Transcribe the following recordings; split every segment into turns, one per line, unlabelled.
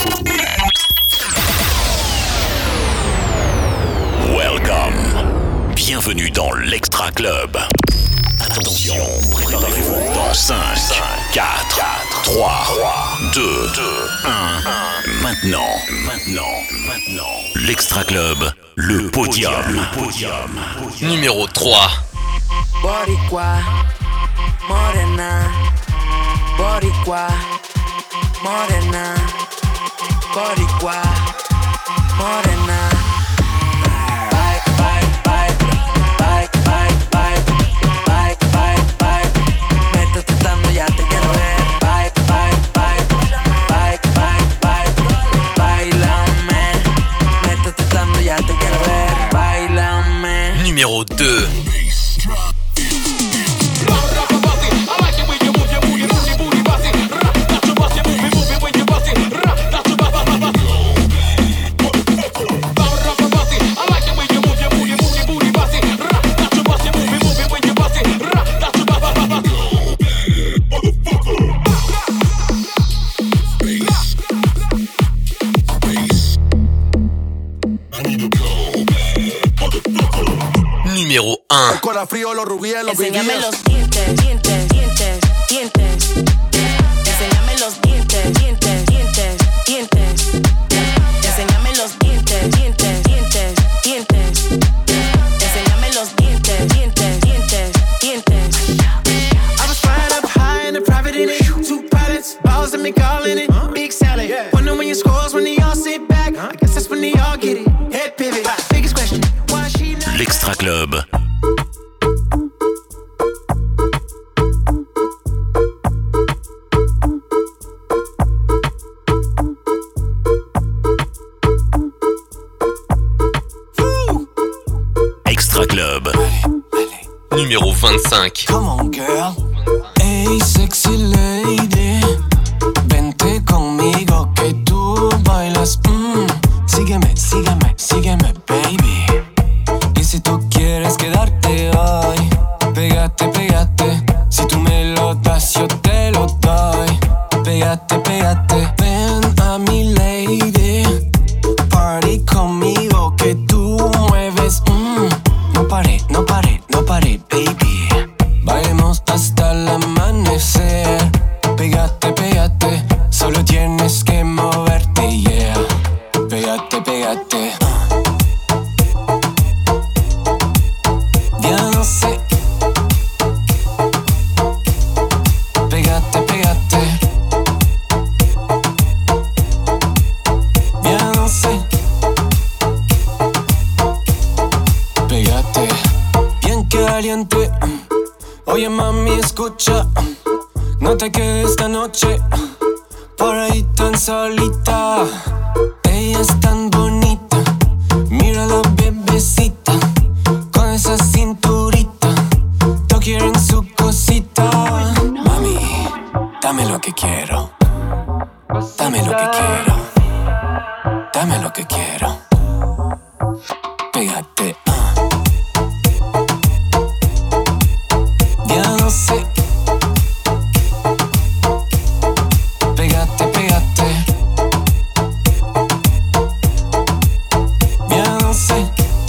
Welcome. Bienvenue dans l'Extra Club. Attention, préparez-vous dans 5, 4, 3, 2, 1. Maintenant. L'Extra Club, le podium.
Numéro 3.
Boricua, morena. Boricua, morena. Boricua, morena. Ya te quiero ver, bailame. Métete dando, ya te quiero ver, bailame.
Numéro 2. Numéro 1.
Cola frío, los rubíes, los
Enséñame
BBS.
los dientes, dientes, dientes, dientes. Enséñame los dientes, dientes, dientes, dientes. Enséñame los dientes, dientes, dientes, dientes. Enséñame los dientes, dientes, dientes, dientes.
I was flying up high in a private in it. 2 pilots, balls and me calling it. Big salad. Wonder when your scores when they all sit back. I guess that's when they all get it. Head pivot. Biggest question, why she not?
L'Extra Club. Extra Club.
Numéro 25.
Come on, girl. Hey, sexy lady. Vente conmigo que tú bailas. Sígueme, sígueme, sígueme, baby. Y si tú quieres quedarte hoy, pégate, pégate. Si tú me lo das, yo te lo doy. Pégate, pégate. Ven a mi lady. Party conmigo que tú mueves. No pare, no pare, no pare, baby. Bailemos hasta el amanecer. Pégate, pégate. Solo tienes que moverte, yeah. Pégate, pégate. Ya no sé. Pégate, pégate. Ya no sé. Pégate. Bien caliente. Oye, mami, escucha. No te quedes esta noche por ahí tan solita. Ella es tan bonita. Mira la bebecita con esa cinturita. Todos quieren su cosita. Mami, dame lo que quiero. Dame lo que quiero. Dame lo que quiero. Pégate. Ya no sé. Pégate, pégate. Ya no sé.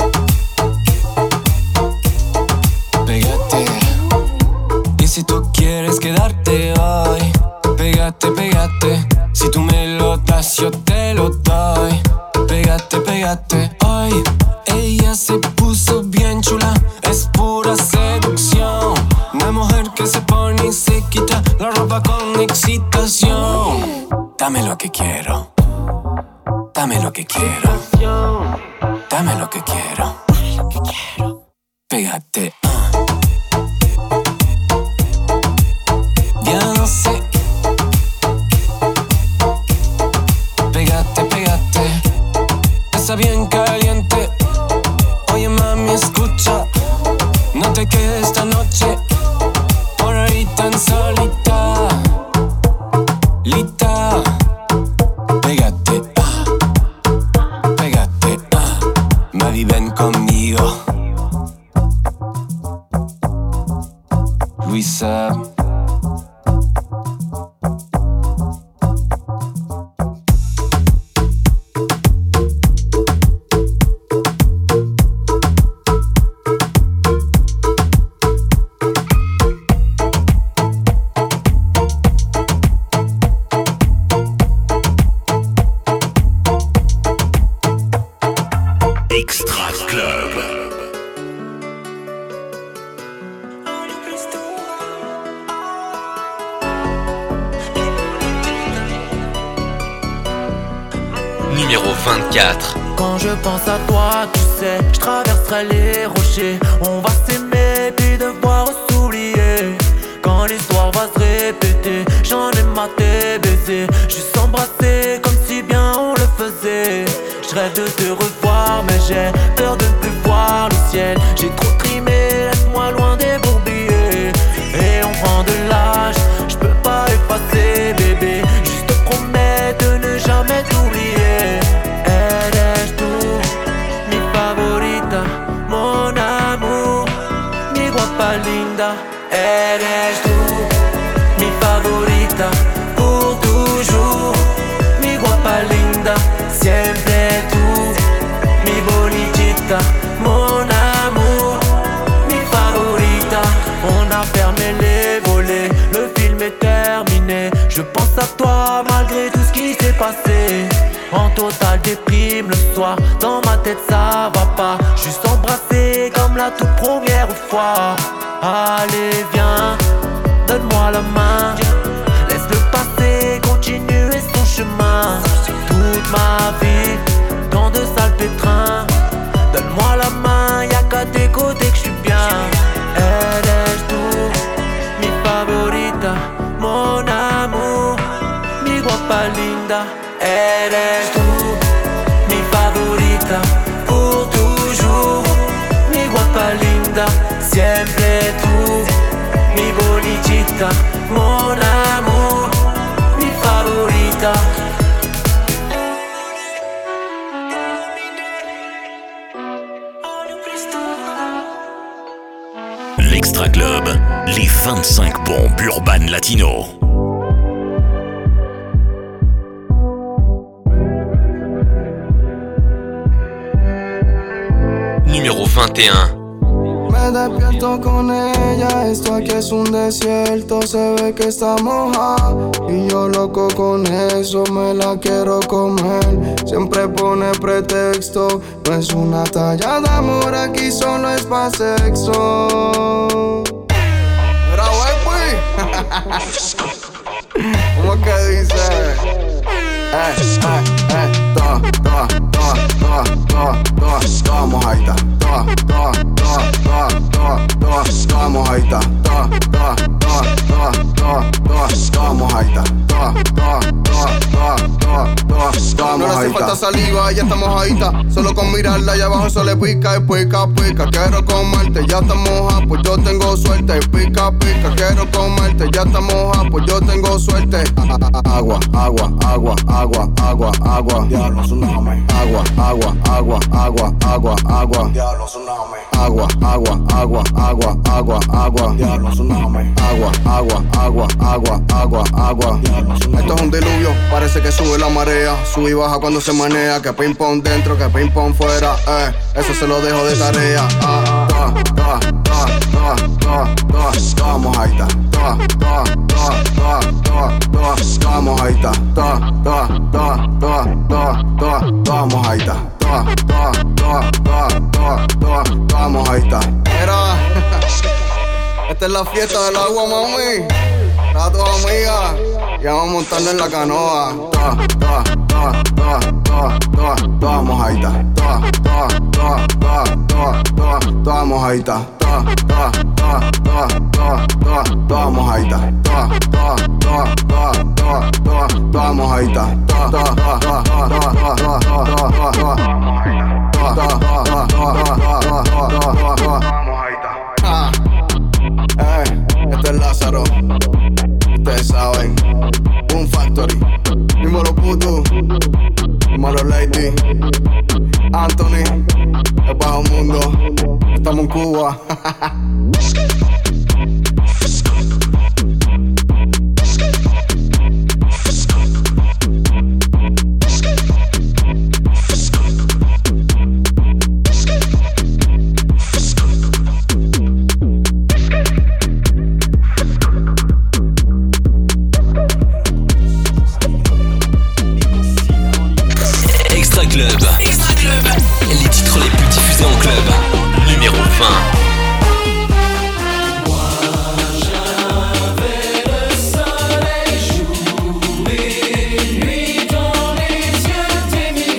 Pégate. Y si tú quieres quedarte hoy, pégate, pégate. Si tú me lo das, yo te lo doy. Pégate, pégate. Ay, ella se puso bien chula. Es pura seducción. Una mujer que se pone y se quita la ropa con excitación. Dame lo que quiero. Dame lo que quiero. Dame lo que quiero. Pégate. Ya no sé. Pégate, pégate. Está bien caliente. Oye, mami, escucha. No te quedes esta noche por ahí tan solita. Lita. Pégate, pégate, Mavi, ven conmigo. Luisa.
Numéro 24.
Quand je pense à toi, tu sais, je traverserai les rochers. On va s'aimer puis devoir s'oublier. Quand l'histoire va se répéter, j'en ai maté baiser. Juste embrasser comme si bien on le faisait. Je rêve de te revoir mais j'ai peur de ne plus voir le ciel. J'ai trop trimé, laisse-moi loin des bourbiers. Et on prend de l'âge, je peux pas effacer bébé. Juste te promets de ne jamais t'oublier. Eres tú, mi favorita, mon amour, mi guapa linda. Eres tú, mi favorita, pour toujours, mi guapa linda. Siempre tú, mi bonitita, mon amour, mi favorita. On a fermé les volets, le film est terminé. Je pense à toi malgré tout ce qui s'est passé. En total déprime le soir, dans ma tête ça va pas. Juste embrasser comme la toute première fois. Allez viens, donne-moi la main. Laisse-le passer, continuer son chemin. Toute ma vie, dans de sales pétrins. Donne-moi la main, y'a qu'à tes côtés que je suis bien. Eres tú, mi favorita, mon amour, mi guapa linda. Eres tú, mi favorita, pour toujours, mi guapa linda. Siempre tú, mi bonitita, mon amour, mi favorita.
L'Extra Club, les 25 bombes urbaines latino.
Numéro 21.
Me despierto con ella, esto aquí es un desierto, se ve que está mojada y yo loco con eso, me la quiero comer. Siempre pone pretexto, no es una talla de amor, aquí solo es pa' sexo. Mira, wey, ¿cómo que dice? Toda mojadita, toda mojadita, toda mojadita, no le hace falta saliva, ya está mojadita. Solo con mirarla allá abajo se le pica y pica, pica. Quiero comerte, ya está moja, pues yo tengo suerte. Pica, pica, quiero comerte, ya está moja, pues yo tengo suerte. Agua, agua, agua, agua, agua, agua. Diablo, tsunami. Agua, agua, agua, agua, agua, agua. Diablo, tsunami. Agua, agua, agua, agua, agua, agua. Diablo, tsunami. Agua, agua, agua, agua, agua, agua. Esto es un diluvio, parece que sube la marea. Sube y baja cuando se manea. Que ping pong dentro, que ping pong fuera. Eso se lo dejo de tarea. Toda mojadita. Toda mojadita. Toda mojadita. Toda mojadita. Mira, esta es la fiesta del agua, mami. Para tus amigas, ya vamos montando en la canoa. Toda mojadita. Toda mojadita. Toda mojadita. Toda mojadita. Este es Lázaro. Ustedes saben, Boom Factory, dímelo puto, dímelo Lady, Anthony, el bajo mundo, estamos en Cuba.
Extra Club. Les titres les plus diffusés en club. Numéro 20.
Nuit dans les yeux, tes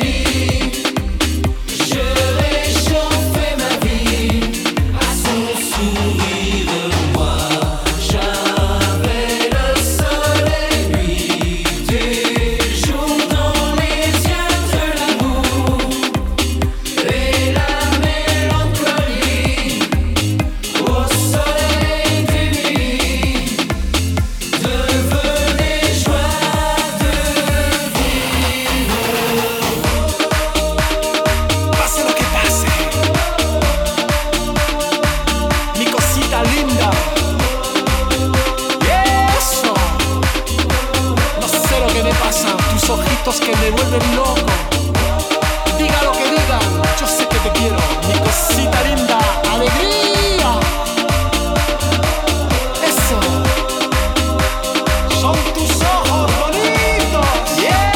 ojitos que me vuelven loco. Diga lo que diga, yo sé que te quiero. Mi cosita linda, alegría. Eso. Son tus ojos bonitos. Yeah.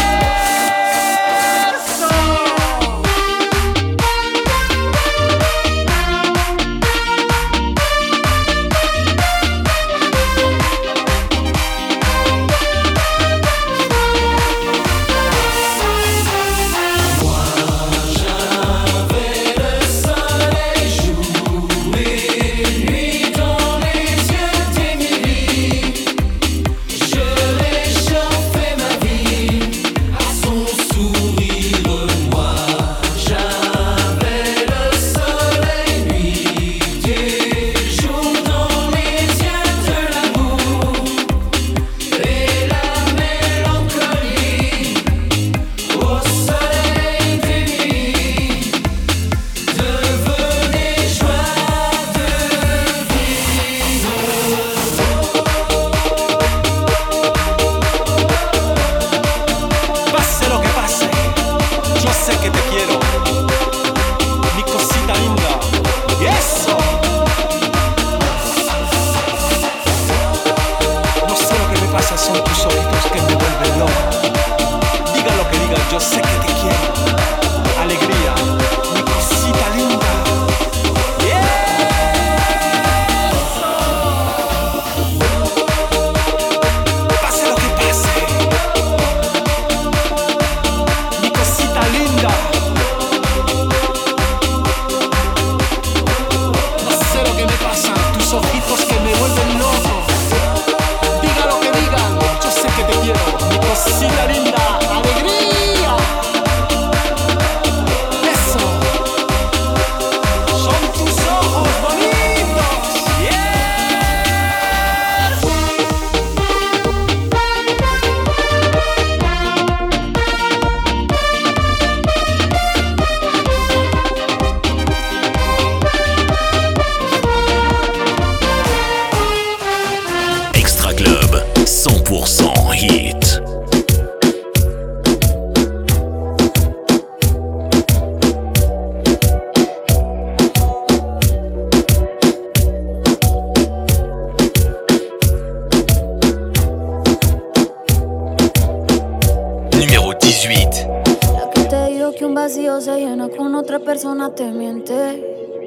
Persona te miente.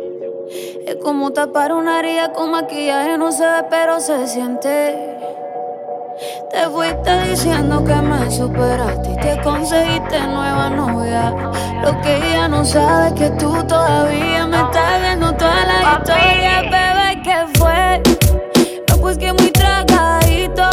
Es como tapar una herida con maquillaje, no se ve pero se siente. Te fuiste diciendo que me superaste y te conseguiste nueva novia. Lo que ella no sabe es que tú todavía me estás viendo toda la historia. Bebé, ¿qué fue? No, pues que muy tragadito.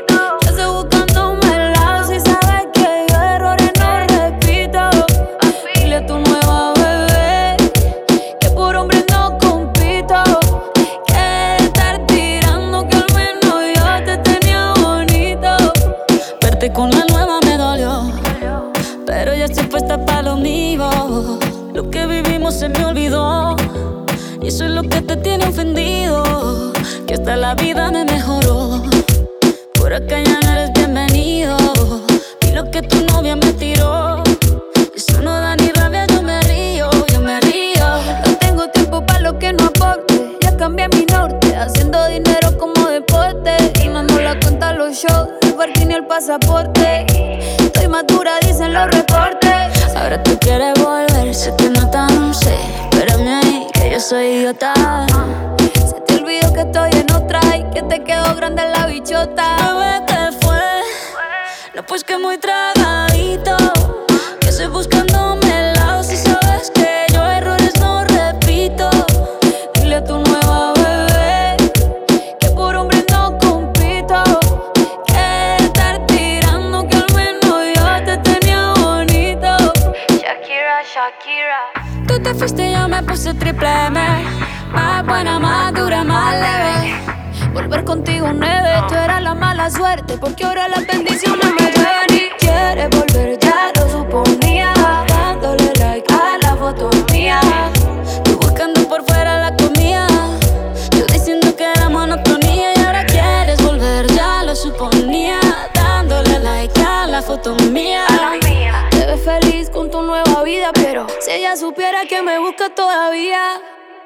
Con la nueva me dolió, pero ya estoy puesta para lo mío. Lo que vivimos se me olvidó, y eso es lo que te tiene ofendido. Que hasta la vida me mejoró. Por acá ya no eres bienvenido. Y lo que tu novia me tiró, eso no da ni rabia, yo me río, yo me río. No tengo tiempo para lo que no aporte. Ya cambié mi norte, haciendo dinero como deporte. Y no ando la cuenta a los shows, ni el pasaporte. Estoy madura, dicen los reportes. Ahora tú quieres volver, se te nota, no sé. Espérame ahí, que yo soy idiota. Se te olvidó que estoy en otra y que te quedó grande la bichota. Bebé, ¿qué fue? No, pues que muy tragadito. Que estoy buscándome el lado. Si sabes que yo errores no repito. Dile a tu nueva bebé que por hombre no compito. Shakira. Tú te fuiste y yo me puse triple M. Más buena, más dura, más leve. Volver contigo nueve. Tú eras la mala suerte, porque ahora las bendiciones me llueven. Y quieres volver, ya lo suponía. Dándole like a la foto mía. Tú buscando por fuera la comida. Yo diciendo que era monotonía. Y ahora quieres volver, ya lo suponía. Dándole like a la foto mía. vida, pero si ella supiera que me busca todavía.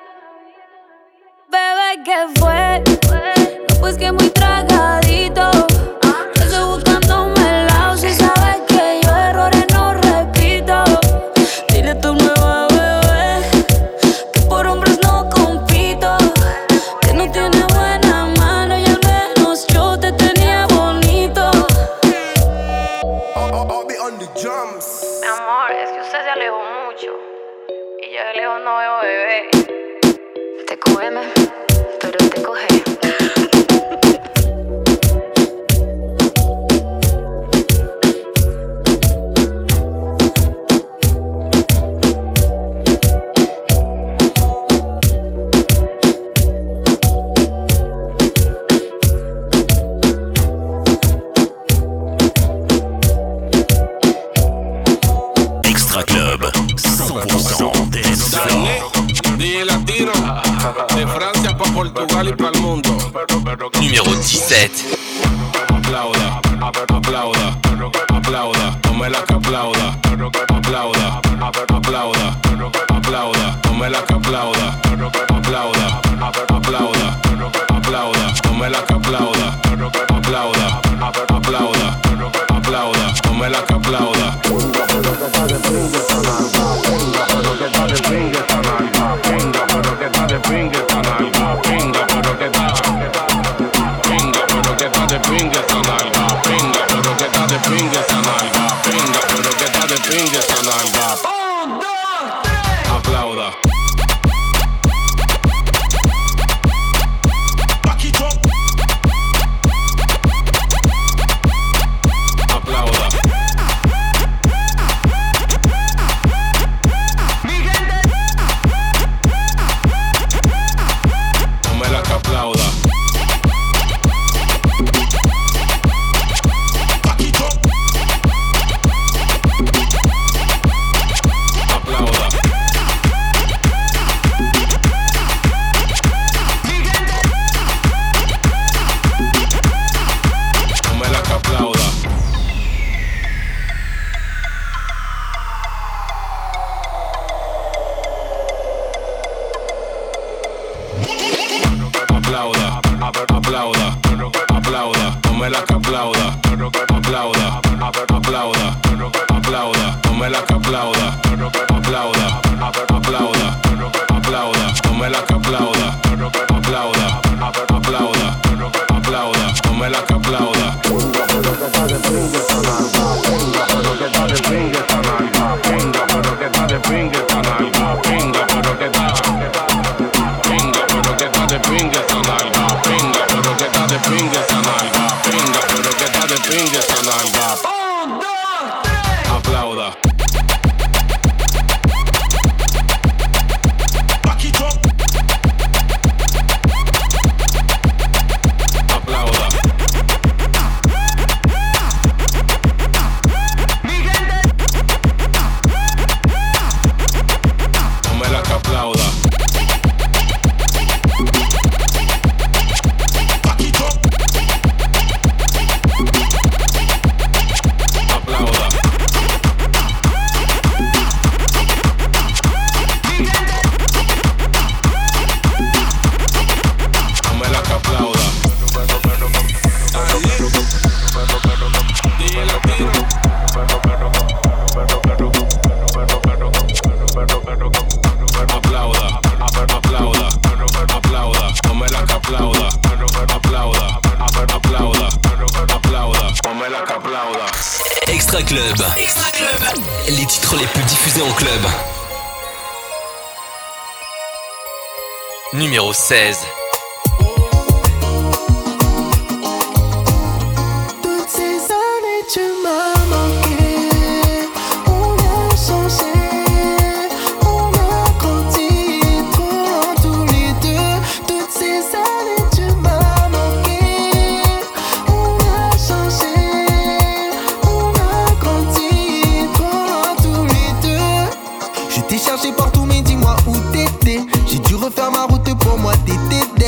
Bebé, ¿qué fue? No, pues que muy tragadito. Estoy buscándome el lado. Si sabes que yo errores no repito. Dile a tu nueva bebé que por hombres no compito, que no tiene buena mano y al menos yo te tenía bonito.
I'll be on the drums.
Mi amor, es que usted se alejó mucho y yo de lejos no veo bebé. Te cógeme, pero te coge.
Extra Club, 100% dance floor.
DJ Latino, de Francia pa' Portugal y pa'l mundo.
Numéro 17.
Aplauda, aplauda, aplauda, tome la que aplauda. Aplauda, aplauda, aplauda, tome la que aplauda. Aplauda, aplauda, aplauda, tome la que aplauda. Aplauda, aplauda, aplauda, tome la que aplauda. Aplauda. Aplauda. Tome la que aplauda. Aplauda. Tome la que aplauda. Aplauda, aplauda, aplauda, tome la que aplauda. Aplauda, aplauda, aplauda, tome la que aplauda. Aplauda, aplauda, aplauda, tome la que aplauda. Aplauda, aplauda, aplauda, tome la que aplauda. Aplauda. Aplauda. Tome la que aplauda. Aplauda. Tome la que aplauda. DJ Latino. Aplauda, aplauda, aplauda, tome la que aplauda. Aplauda, aplauda, aplauda, tome la que aplauda.
Extra Club. Extra Club. Les titres les plus diffusés en club. Numéro 16.
Toutes ces années tu m'as manqué. On a changé, on a grandi trop loin tous les deux. Toutes ces années tu m'as manqué. On a changé, on a grandi trop loin tous les deux. Je t'ai cherché partout mais dis-moi où t'étais. J'ai dû refaire ma route pour moi t'étais.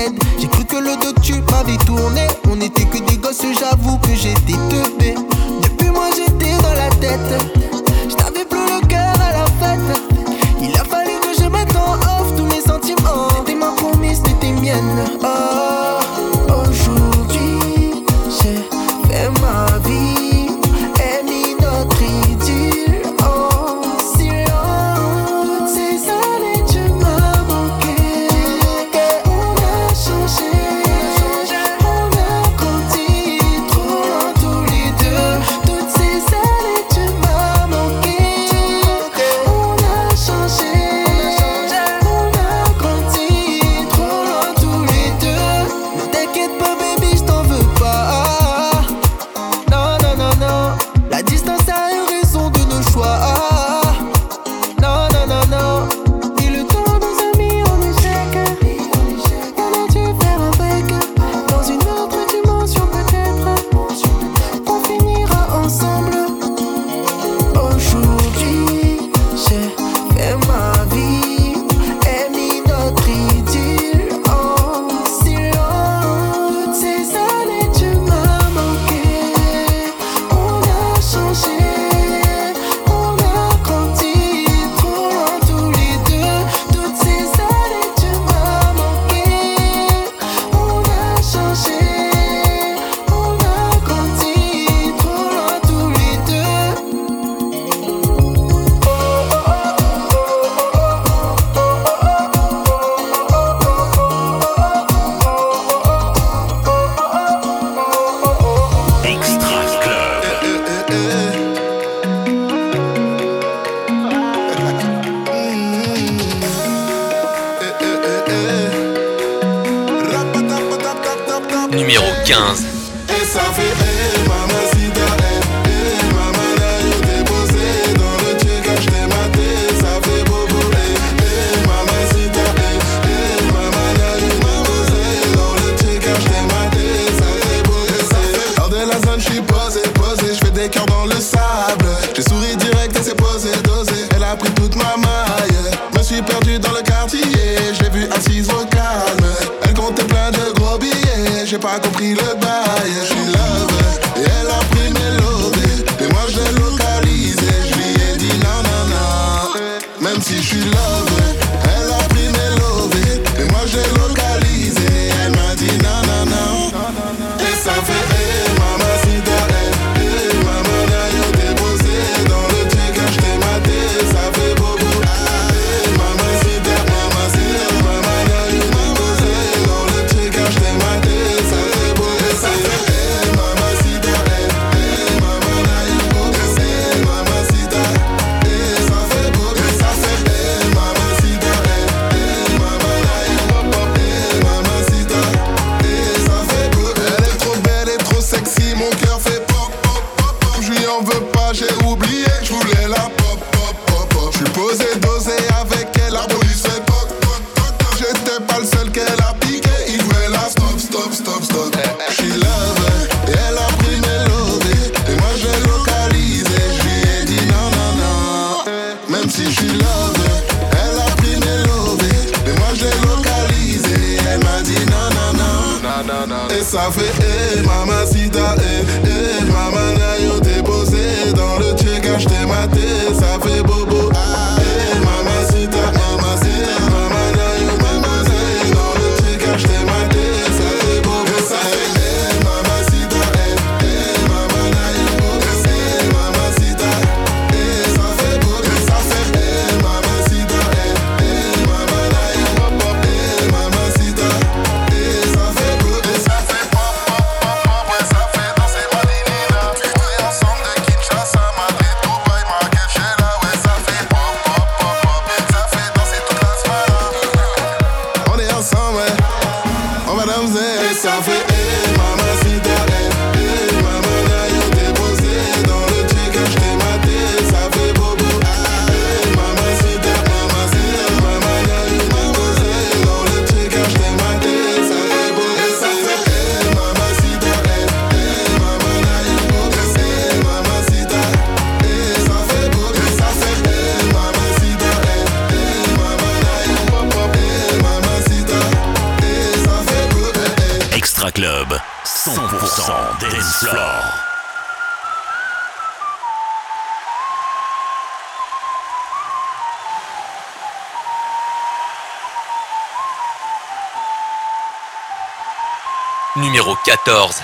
15.
Et ça fait mamacita, mamana, yo t'ai posé dans le check, je t'ai maté, ça fait bobo, mamacita, mamana, yo t'ai posé dans le check, je t'ai maté, ça fait bobo. Hors de la zone, j'suis posé, je fais des cœurs dans le sable. J'ai souri direct et c'est posé, dosé. Elle a pris toute ma maille. Me suis perdu dans le quartier, j'ai vu assise au calme. Elle comptait plein de gros billets, j'ai pas compris le bail. J'suis love, et elle a pris mes lovés. Et moi je l'ai localisé, j'lui ai dit non, non, non. Même si j'suis love, elle a pris mes lovés. Et moi je l'ai localisé, elle m'a dit non, non, non. Et ça fait mamacita, mamana, yo t'ai posé dans le check, je t'ai maté, ça fait bobo. Mamacita, mamacita, mamana, yo t'ai posé dans le check, je t'ai maté, ça fait bobo. Ça fait mamacita, mamana, yo t'ai posé, mamacita, ça fait bobo. Ça fait mamacita, mamana, yo t'ai posé, mamacita, ça fait bobo. Elle est trop belle et trop sexy, mon cœur fait pop, pop, pop, pop. Je lui en veux pas, j'ai oublié, je voulais la pop, pop, pop, pop. Je suis posé, dosé avec elle, l'arbre lui fait toc, toc, toc, toc. J'étais pas le seul qu'elle a piqué, il voulait la stop, stop, stop, stop. Je suis love, et elle a pris mes lovés, et moi je l'ai localisé, je lui ai dit non, non, non. Même si je suis love, elle a pris mes lovés, et moi je l'ai localisé, elle m'a dit non, non, non. Et ça fait mamacita, mamana, yo t'ai posé dans le check, je t'ai maté, ça fait bobo. Mamacita, mamacita, mamana, yo t'ai posé dans le check, je t'ai maté, ça fait bobo. Et ça fait mamacita, mamana, yo t'ai posé, mamacita, ça fait bobo. Et ça fait mamacita, mamana, yo t'ai posé, mamacita, ça fait bobo. Et ça fait pop, pop, pop, pop, ouais, ça fait danser Madinina. Puis ensemble de Kinshasa, Madrid, Dubaï, Marrakech, là, ouais, ça fait pop, pop, pop, pop, ça fait danser toute la semaine. On est ensemble, ouais, on va danser. Et ça fait mamacita, mamana, yo t'ai posé dans le check, je t'ai maté, ça fait bobo. Mamacita, mamacita, mamana, yo t'ai posé dans le check, je t'ai maté, ça fait bobo. Et ça fait mamacita, mamana, yo t'ai posé, mamacita, ça fait bobo. Et ça fait mamacita, mamana, yo t'ai posé, mamacita, ça fait bobo.
Extra Club, 100% dance floor.
Numéro 14.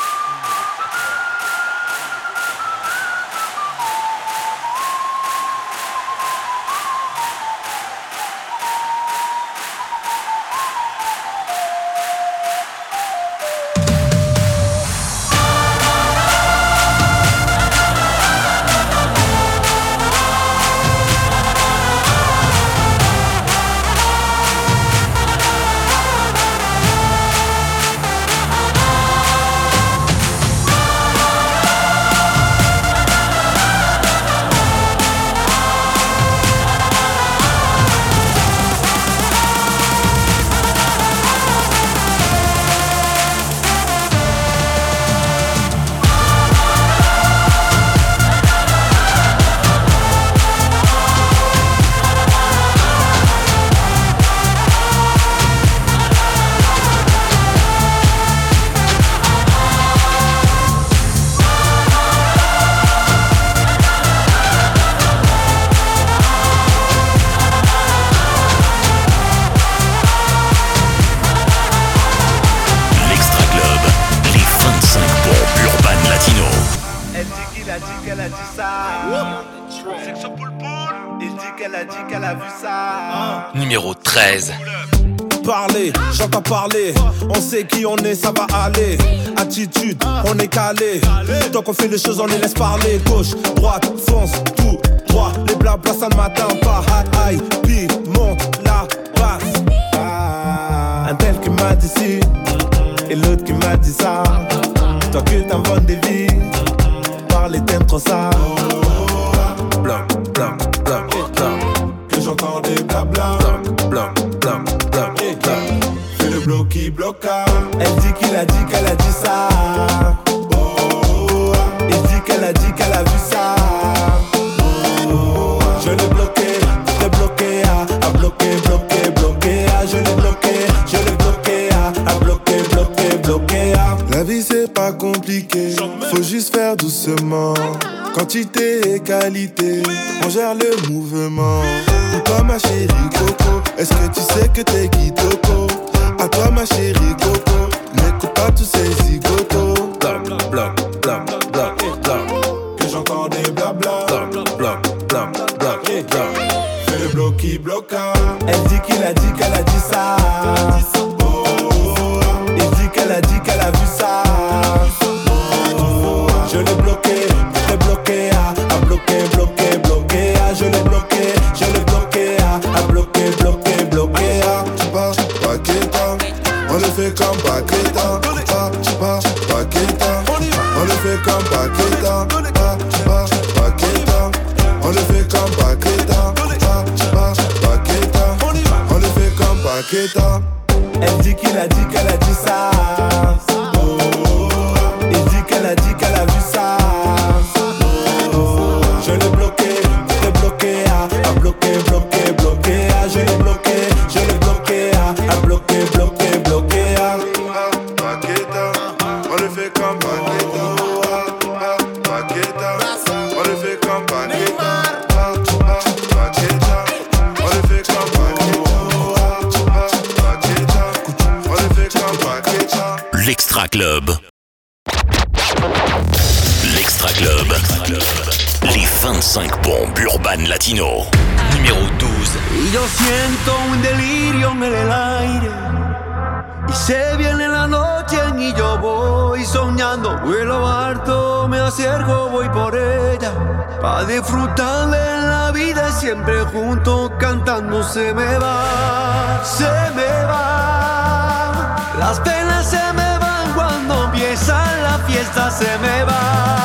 Numéro 13.
Parler, j'entends parler. On sait qui on est, ça va aller. Attitude, on est calé. Tant qu'on fait les choses, on les laisse parler. Gauche, droite, fonce, tout droit. Les blabla, ça ne m'atteint pas. Aïe, puis monte la passe. Un tel qui m'a dit si, et l'autre qui m'a dit dit ça. Toi que t'inventes des vies, par les thèmes trop sales. Blam, blam, blam, blam. Que j'entends des blabla. Blam, blam, blam, blam. Fais le bloc qui bloqua. Elle dit qu'il a dit qu'elle a dit ça. Il dit qu'elle a vu ça. Je l'ai bloqué, à bloqué, je l'ai bloqué, à bloqué. La vie c'est pas compliqué, faut juste faire doucement. Quantité et qualité, on gère le mouvement. Pour toi ma chérie Coco, est-ce que tu sais que t'es Kitoko? À toi ma chérie Coco, n'écoute pas tous ces zigotos. Blam, blam, blam, blam, blam. Que j'entends des blabla. Blam, blam, blam, blam, blam. Fais le bloc qui bloqua. Elle dit qu'il a dit qu'elle a dit ça. Il dit qu'elle a vu ça. Je l'ai bloqué, à bloqué, je l'ai bloqué, à bloqué. Tu pars, Paqueta, on le fait comme Paqueta. Tu pars, Paqueta, on le fait comme Paqueta. Tu pars, Paqueta, on le fait comme Paqueta. Tu pars, Paqueta, on le fait comme Paqueta. Elle dit qu'il a dit qu'elle a dit ça. Il dit qu'elle a vu ça. Je l'ai bloqué, à bloqué, je l'ai bloqué, à bloqué. Paqueta, on le fait comme Paqueta. Paqueta, on le fait comme Paqueta. Paqueta, on le fait comme Paqueta.
L'Extra Club. L'Extra Club. Les 25 bombes urbaines latino.
Numéro 12.
Y yo siento un delirio en el aire. Y se viene la noche y yo voy soñando. Vuelo alto, me acerco, voy por ella. Pa' disfrutar de la vida siempre juntos cantando. Se me va, las penas se me van cuando empieza la fiesta. Se me va,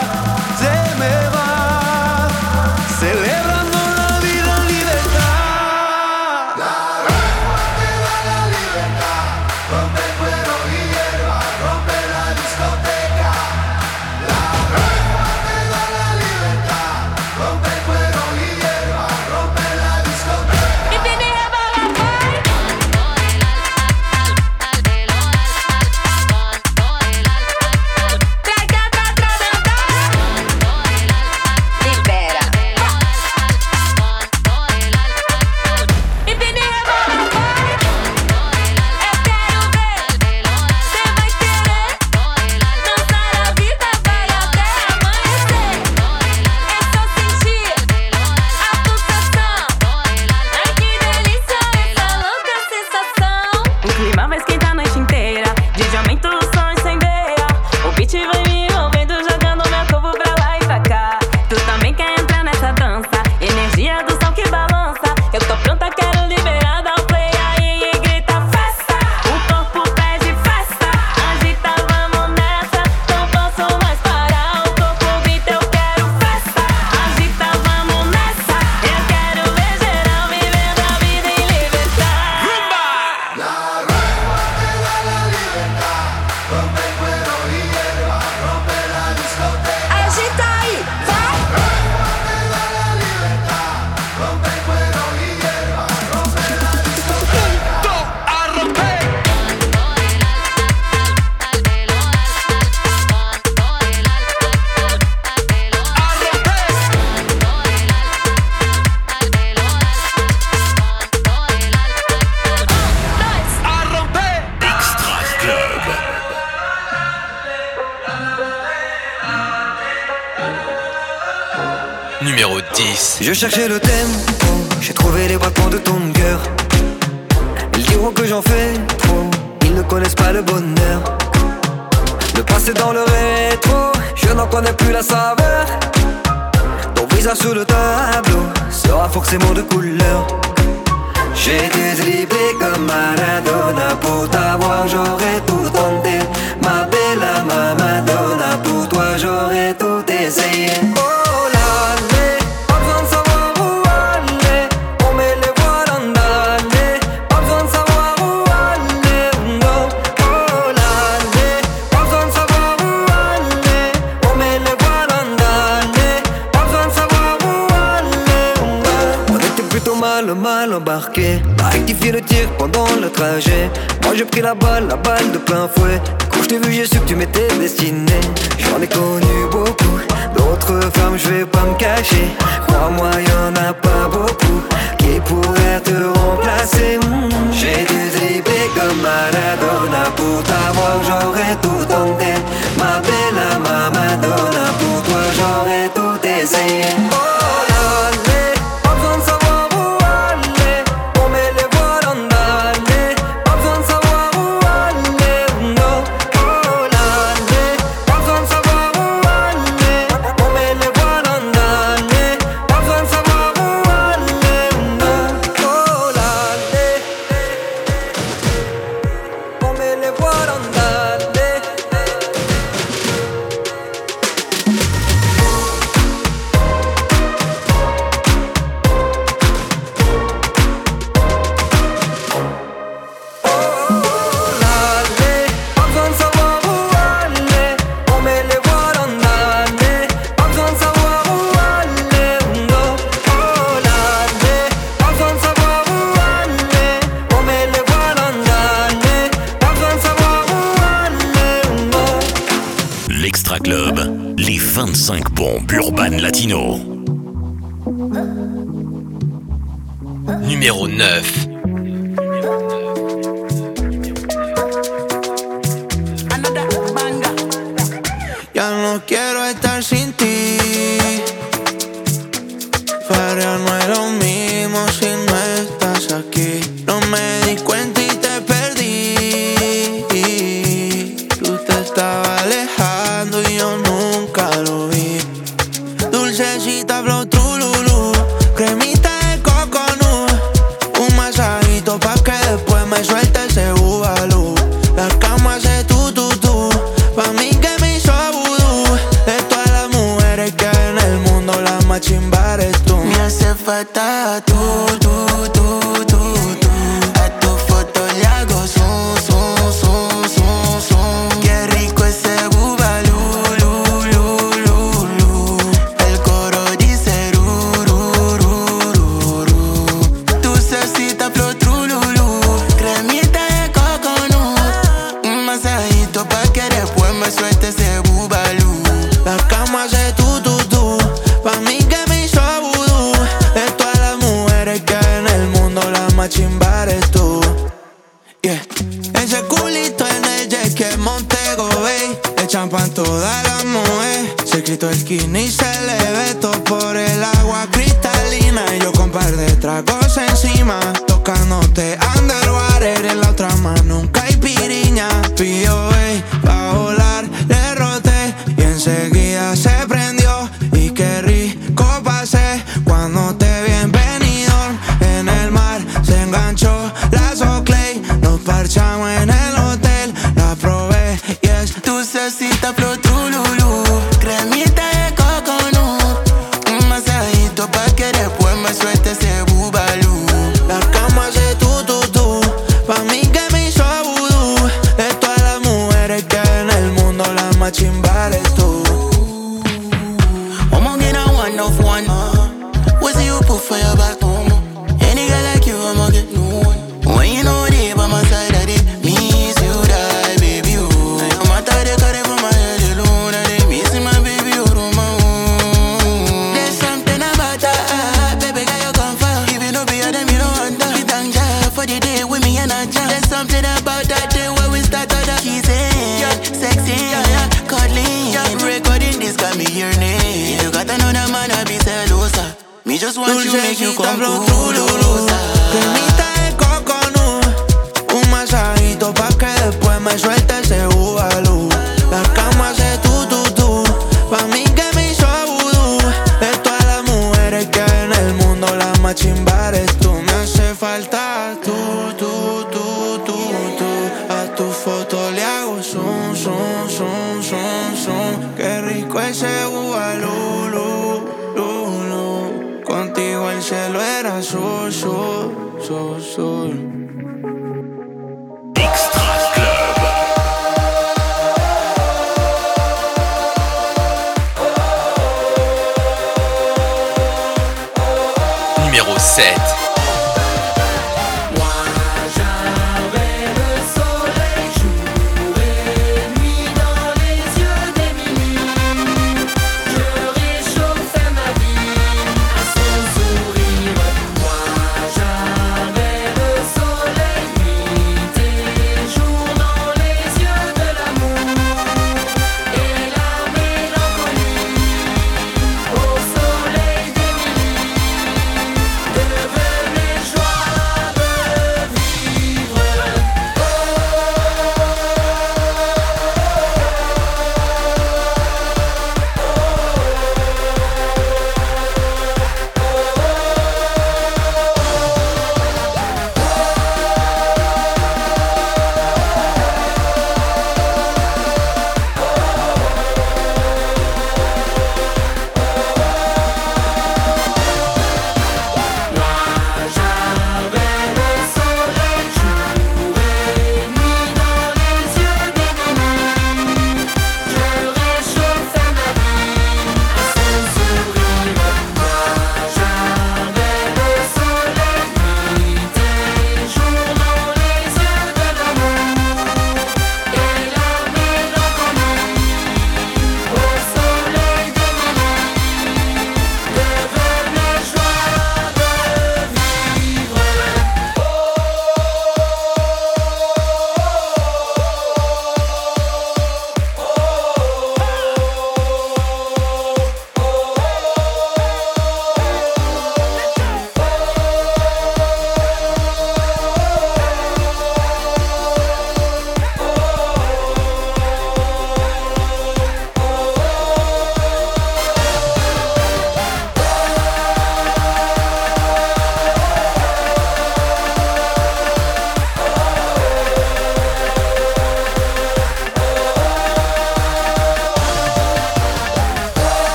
celebrando la vida en libertad. La rumba te da la libertad, rompe cuero y hierba, rompe la discoteca. La rumba te da la libertad, rompe cuero y hierba, rompe la discoteca. Y tiene
Numéro 10.
Je cherchais le tempo, j'ai trouvé les battements de ton cœur. Ils diront que j'en fais trop, ils ne connaissent pas le bonheur. Le passé dans le rétro, je n'en connais plus la saveur. Ton visage sous le tableau sera forcément de couleur. J'ai dédriblé comme Maradona, pour t'avoir j'aurais tout tenté. Ma belle mal embarqué. M'a rectifié le tir pendant le trajet. Moi j'ai pris la balle de plein fouet. Quand je t'ai vu j'ai su que tu m'étais destiné. J'en ai connu beaucoup, d'autres femmes je vais pas me cacher. Crois-moi y'en a pas beaucoup qui pourraient te remplacer. J'ai dû dribbler comme Maradona pour t'avoir, j'aurais tout tenté. Ma bella Madonna, pour toi j'aurais tout essayé.
Extra Club, les 25 bombes urbaines latino.
Numéro 9.
Ya no quiero estar sin ti. Para no es lo mismo si no estás aquí. No me di cuenta y te perdí. Tú te estabas alejando y yo nunca lo vi. Dulcecita flow trululú, cremita de coconut. Un masajito pa' que después me suelte ese bubalú. La cama hace tú. Pa' mí que me hizo vudú. De todas las mujeres que hay en el mundo, la más chimba eres tú. Me hace falta tú. A tu foto le hago zoom. Qué rico ese bubalú. El coro dice dulcecita flow trululú, cremita de coconut. Un masajito pa' que después me suelte ese bubalú. La cama hace tú. Pa' mí que me hizo vudú. De todas las mujeres que hay en el mundo, la más chimba eres tú. Yeah. Ese culito en el jet que Montego Bay. Le champan todas las mujeres. Se quitó el skinny y se le ve todo por el agua cristalina. Y yo con par de tragos encima, tocándote underwater. En la otra mano nunca hay piriña. Pidió pa' volar, le roté y enseguida se prendió. Y qué rico pasé cuando te vi en Benidorm. En el mar se enganchó la Soclay. Nos parchamos en el hotel, la probé y es dulcecita flow trululú, cremita de coconut. Un masajito pa' que después me suelte ese bubalú. La cama hace tú. Pa' mí que me hizo vudú. De todas las mujeres que hay en el mundo, la más chimba eres tú. I'ma get a one of one. What's you put for your back? Any girl like you, I'ma get no one. When you know they by my side, I did miss you, die, baby, oh. I'm out of the car from my head alone. I did miss my baby, oh, my own. There's something about that, baby, girl, you come for. If you know be a them, you don't want that. You thank God for the day with me and I jam. There's something about that day where we start all the kissing, yeah, sexy, yeah, cuddling, yeah. Recording this got me your name. You got another man, I be celosa. Me just want you, make you come closer. Cremita de coconut, un masajito pa' que después me suelte ese bubalú. La cama hace tú. Pa' mí que me hizo vudú. De todas las mujeres que hay en el mundo, la más chimba eres tú. Me hace falta tú. A tu foto le hago zoom. Qué rico ese bubalú. Contigo el cielo era azul.
Extra Club.
Numéro 7.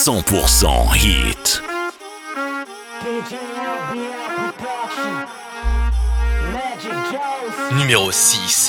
100% hit.
Numéro 6.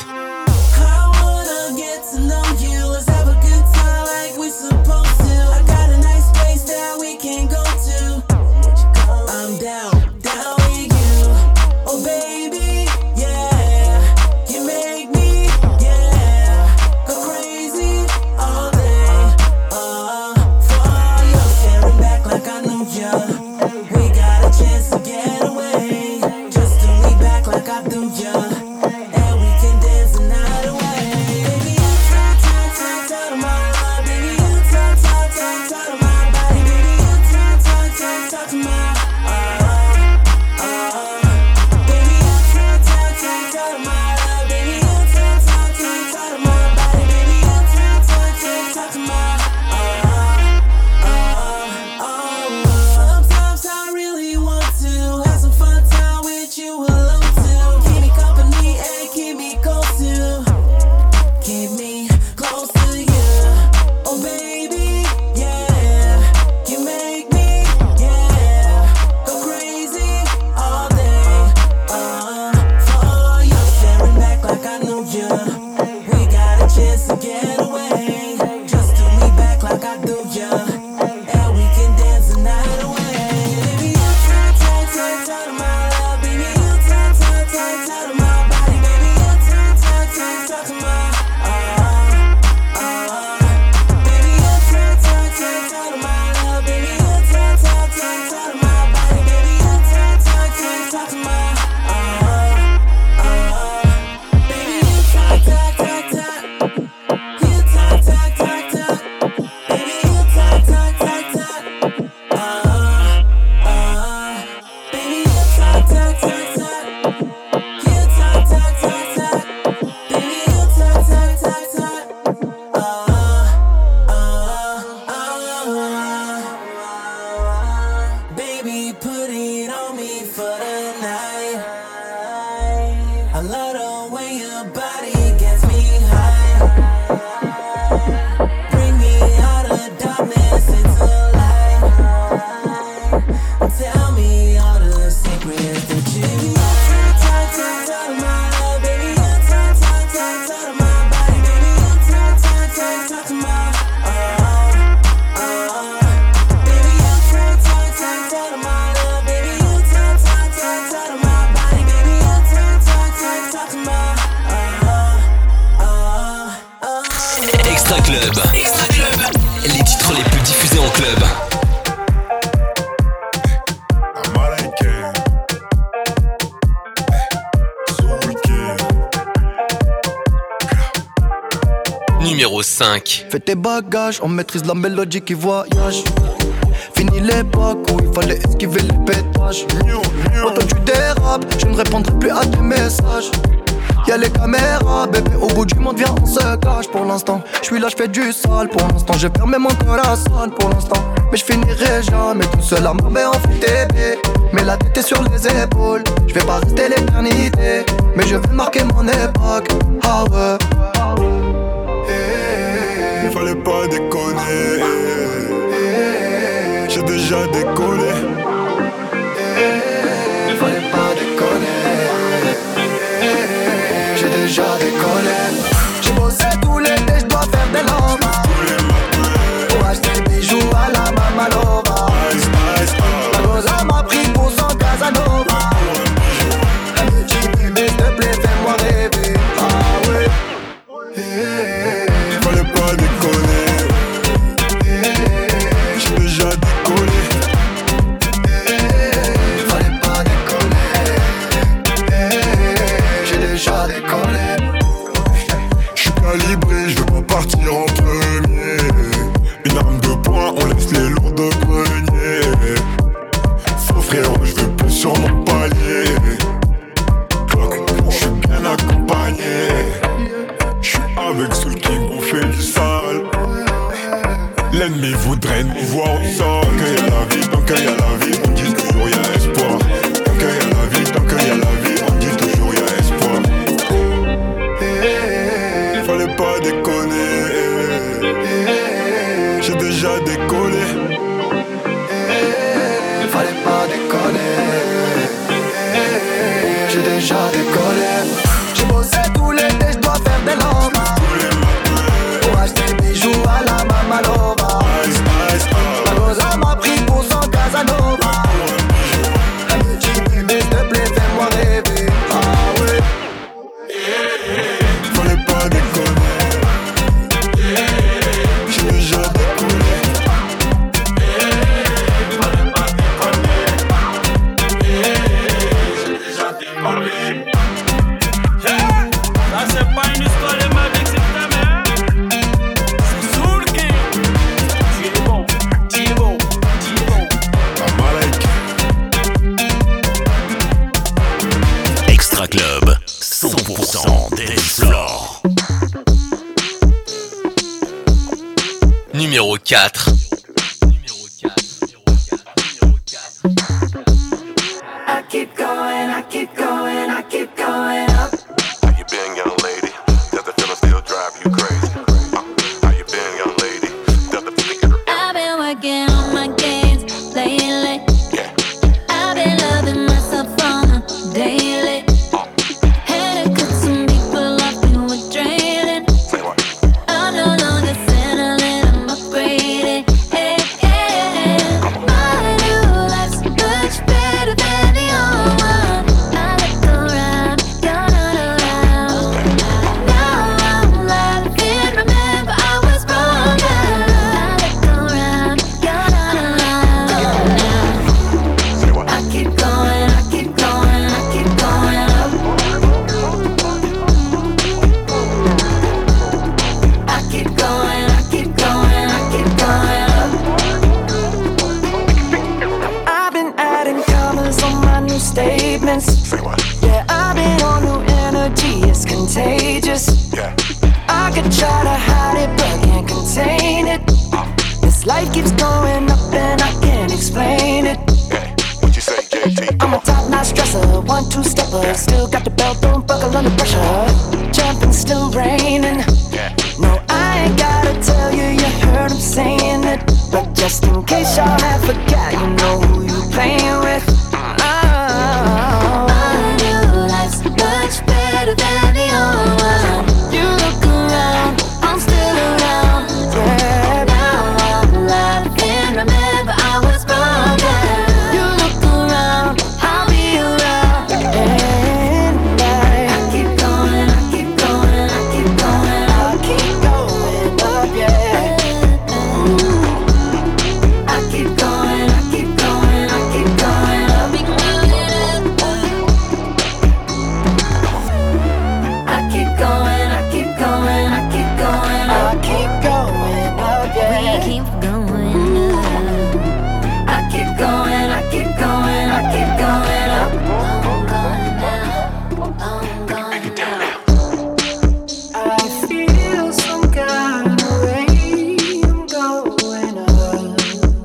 Numéro 5.
Fais tes bagages, on maîtrise la mélodie qui voyage. Fini l'époque où il fallait esquiver les pétages. Quand toi tu dérapes, je ne répondrai plus à tes messages. Y'a les caméras, bébé, au bout du monde, viens, on se cache pour l'instant. Je suis là, je fais du sale pour l'instant. J'ai fermé mon corazon pour l'instant. Mais je finirai jamais tout seul à m'emmener en FTP. Mais la tête est sur les épaules. Je vais pas rester l'éternité, mais je vais marquer mon époque. Ah ouais.
Il fallait pas déconner. J'ai déjà décollé.
Il fallait pas déconner. J'ai déjà décollé. J'ai bossé tout l'été, je dois faire des lampes pour acheter des bijoux à la Mamalova. La goza m'a pris pour son Casanova. Un petit bébé, s'il te plaît, fais-moi rêver. Ah ouais.
Il fallait pas déconner. J'ai déjà décollé.
4.
I keep going, I keep going, I keep going up.
How you been, young lady? Does the feeling still drive you crazy? How you been, young lady? Does the feeling
I've been working on my games lately.
Yeah.
I've been loving myself on a daily. Had to cut some people off who were draining. I'm no longer settling, I'm upgrading. Hey, hey. My new life's much better than the old one. I look around, you're not around. Now I'm laughing, remember I was wrong. I look around, you're not around. I keep going, I keep going, I keep going up. I keep going, I keep going, I keep going up.
I've been adding commas on my new statements. Yeah, I've been on new energy, it's contagious. I could try to hide it, but can't contain it. This life keeps going up and I can't explain it.
What you say, JT?
I'm a top-notch dresser, 1-2 stepper. Still got the belt, don't buckle under pressure. Jumping, still raining. No, I ain't gotta tell you, you heard him saying it. But just in case y'all have forgot, you know who you playing with.
My new life's much better than the old one. You look around, I'm still around. Yeah, now I'm laughing, remember I was wrong. You look around, I'll be around.
And I
keep going, I keep going, I keep going.
I keep going up, yeah.
I keep going, I keep going, I keep going up. I keep going, I keep going, I keep going up.
I keep going up, yeah.
We keep going up. I keep going, I keep going, I keep going up. I'm going down.
I feel some kind of way. I'm going up.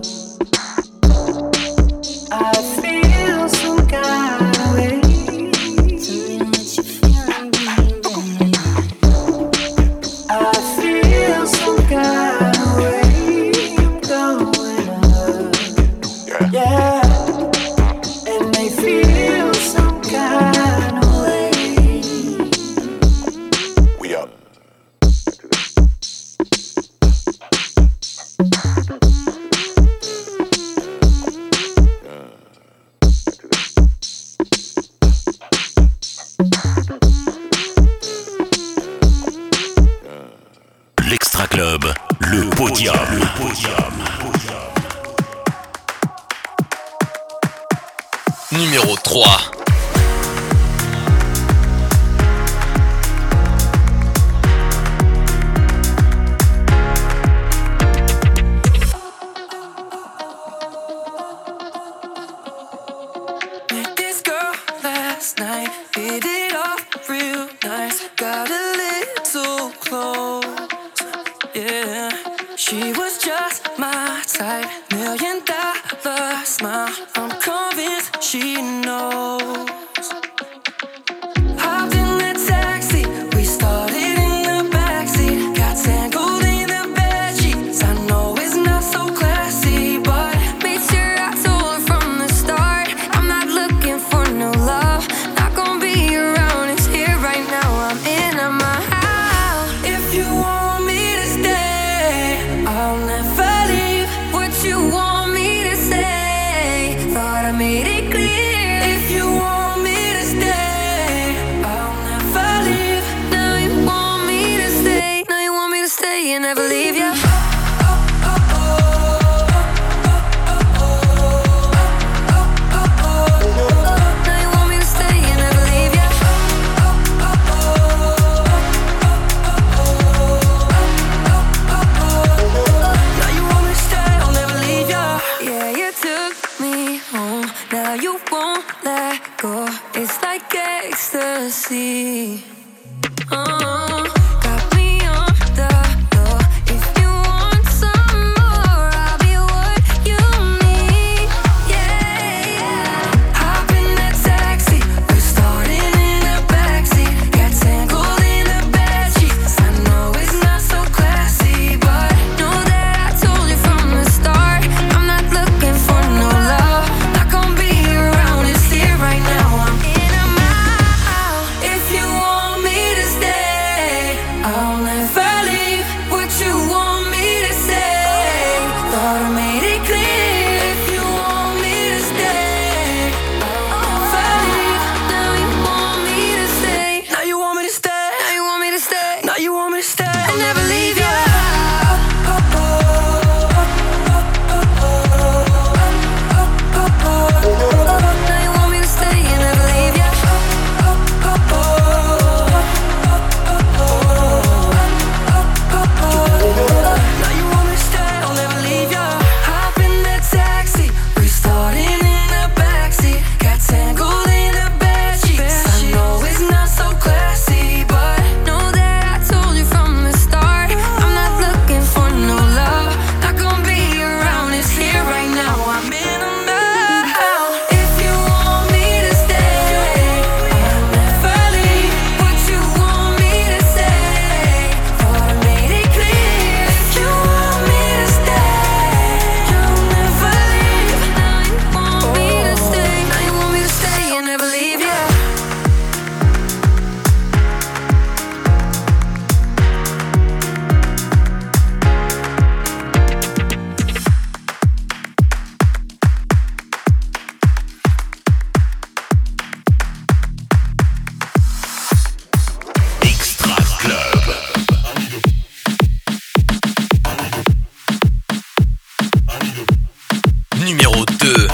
I feel some kind of way. I feel some kind of way. I'm going up. Yeah. And they feel some kind of way.
We up.
L'Extra Club, le podium.
Numéro 3.
Met this girl last night, hit it off real nice. Got a little close, yeah. She was just my type, $1 million smile. I'm convinced she knows. Hopped in the taxi, we started in the backseat. Got tangled in the bedsheets. I know it's not so classy, but made sure I told her from the start, I'm not looking for no love. Not gonna be around, it's here right now. I'm in my house. If you want me to stay, I'll never leave. What you want me to say? Thought I made it clear. If you want me to stay, I'll never leave. Now you want me to stay. Now you want me to stay and never leave you. Now you want me to stay and never leave you. Now you want me to stay, I'll never leave you. Yeah, you took me home. Now you won't let go. It's like ecstasy. Got me on the low. If you want some more,
numéro 2.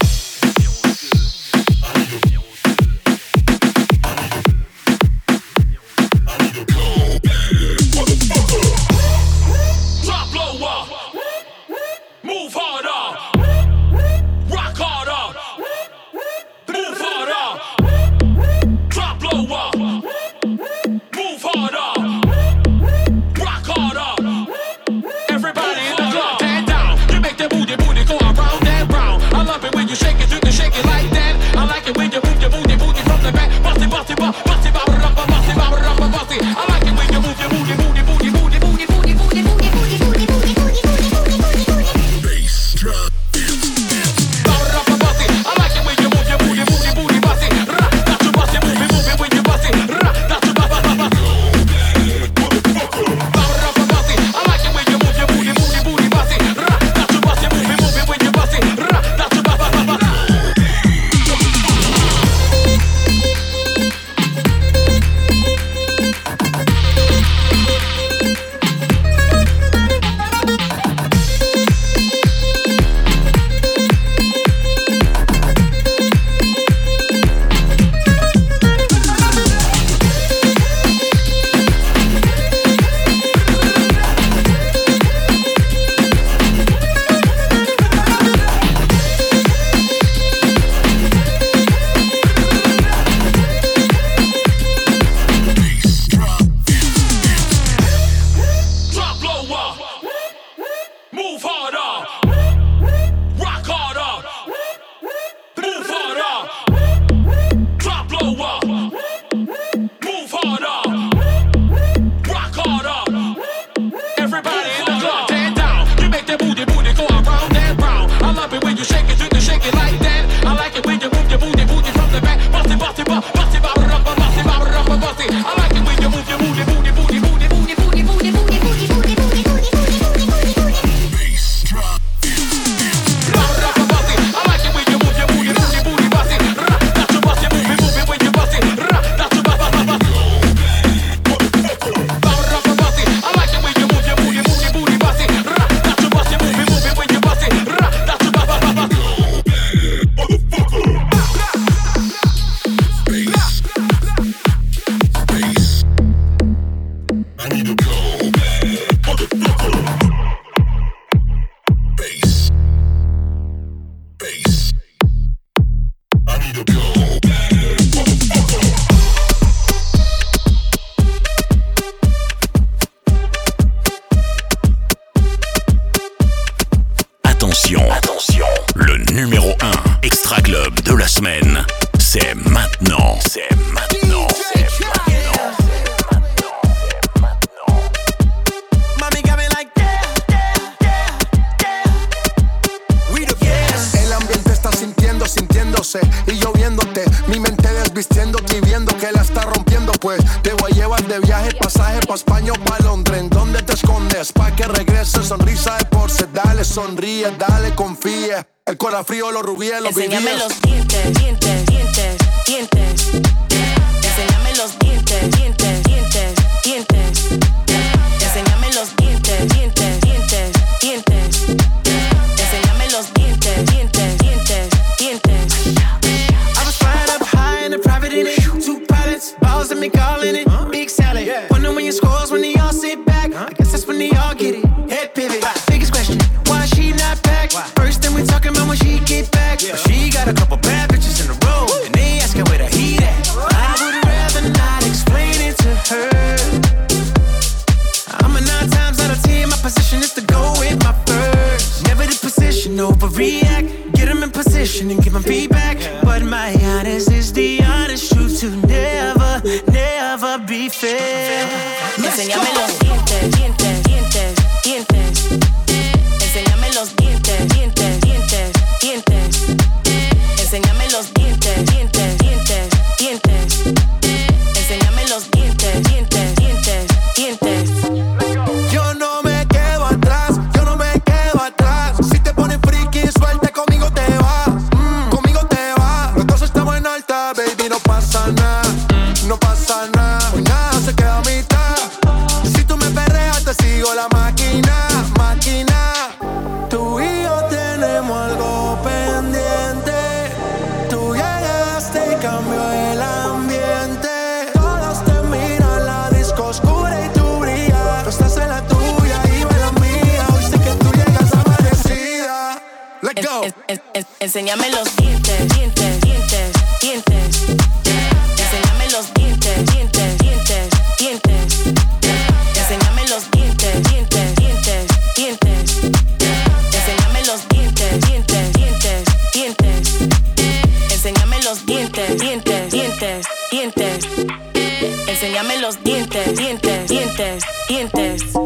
Attention, le numéro 1 Extra Club de la semaine, c'est maintenant.
El ambiente está sintiéndose y yo viéndote, mi mente desvistiéndote y viendo que la está rompiendo, pues te voy a llevar de viaje, pasaje pa' España o pa' Londres. ¿En dónde te escondes? Pa' que regrese, sonrisa de porce, dale, sonríe, dale, confía. El corazón frío, los rubíes, los vivíes.
Enséñame los dientes. Enséñame los dientes. Enséñame los dientes. Enséñame los dientes.
I was flying up high in a private in it. 2 pilots, balls and me calling it. Big salad. Wonder when your scores when they all sit back. I guess that's when they all get it. Head pivot. Biggest question, why she not back? First thing we talking about when she get back. She got a couple bad bitches in a row, and they asking where the heat at. I would rather not explain it to her. I'm a 9 times out of 10, my position is to go with my first. Never the position, overreact. Get them in position and give them feedback. But my honest is the honest truth to never be fair.
Enséñame los dientes. Enséñame los dientes. Enséñame los dientes. Enséñame los dientes.
Yo no me quedo atrás. Si te pones friki, suelta, conmigo te vas. Los dos estamos en alta, baby, no pasa nada. Hoy nada se queda a mitad. Si tú me perreas, te sigo la máquina.
Enséñame los dientes, dientes, dientes, dientes. Enséñame los dientes, dientes, dientes, dientes. Enséñame los dientes, dientes, dientes, dientes. Enséñame los dientes, dientes, dientes, dientes. Enséñame los dientes, dientes, dientes, dientes. Enséñame los dientes, dientes, dientes, dientes.